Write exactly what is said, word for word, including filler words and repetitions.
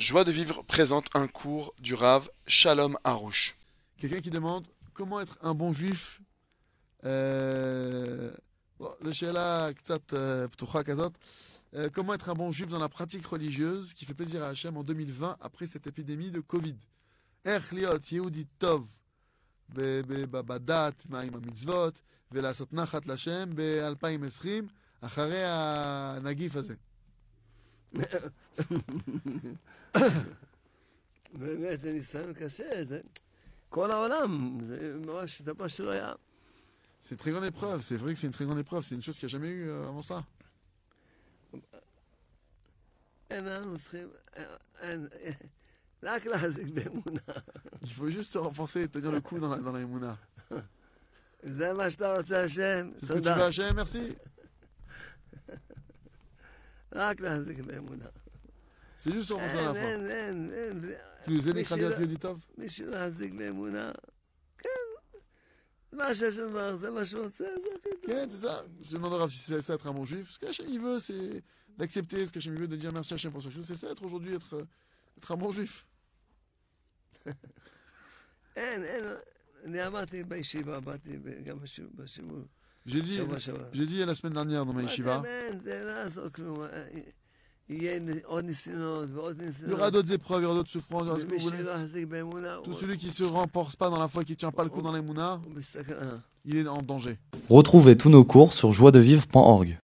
Joie de vivre présente un cours du Rav Shalom Harouche. Quelqu'un qui demande comment être un bon juif. Euh, bon, זו שאלה קצת euh, פתוחה כזאת. Euh, comment être un bon juif dans la pratique religieuse qui fait plaisir à Hachem en deux mille vingt après cette épidémie de Covid. איך להיות יהודי טוב ב- ב- ב- בדת, מה עם המצוות, ולעשות נחת לשם ב-אלפיים ועשרים אחרי הנגיף הזה. באמת זה ניסיון קשה, זה כל העולם, זה ממש דבר שלא היה. C'est une très grande épreuve, c'est vrai que c'est une très grande épreuve, c'est une chose qu'il n'y a jamais eu euh, avant ça. אין לנו צריכים, אין, רק להחזיק באמונה. Il faut juste se renforcer et tenir le coup dans la, dans la émouna. זה מה שאתה רוצה, השם, C'est ce que tu veux תודה. Hachem, merci. רק להחזיק באמונה. C'est juste se renforcer אין, dans la foi. אין, אין, אין. Tu nous aides מי à dire שלא- du tov. מי שלהחזיק באמונה, כן, מה שהשם אמר, זה מה שהוא רוצה, זה הכי טוב. Ouais, c'est ça. Je demande au Rav si c'est ça être un bon juif. Ce qu'Hachem il veut, c'est d'accepter ce qu'Hachem il veut, de dire merci Hachem pour chaque chose. C'est ça être aujourd'hui, être, euh, être un bon juif. אין, אין, אני אמרתי בישיבה, באתי גם בשיעור- בשיעור, J'ai dit, שבוע שעבר. j'ai dit la semaine dernière dans ma yeshiva, באמת, זה לא יעזור כלום. יהיה עוד ניסיונות ועוד il y ניסיונות. aura d'autres épreuves, il y aura d'autres souffrances, il y aura ce que ומי vous voulez. שלא יחזיק באמונה, Tout הוא celui qui se renforce pas dans la foi, qui tient pas le coup dans l'émouna, הוא בסכנה. il est en danger. Retrouvez tous nos cours sur joie de vivre point org.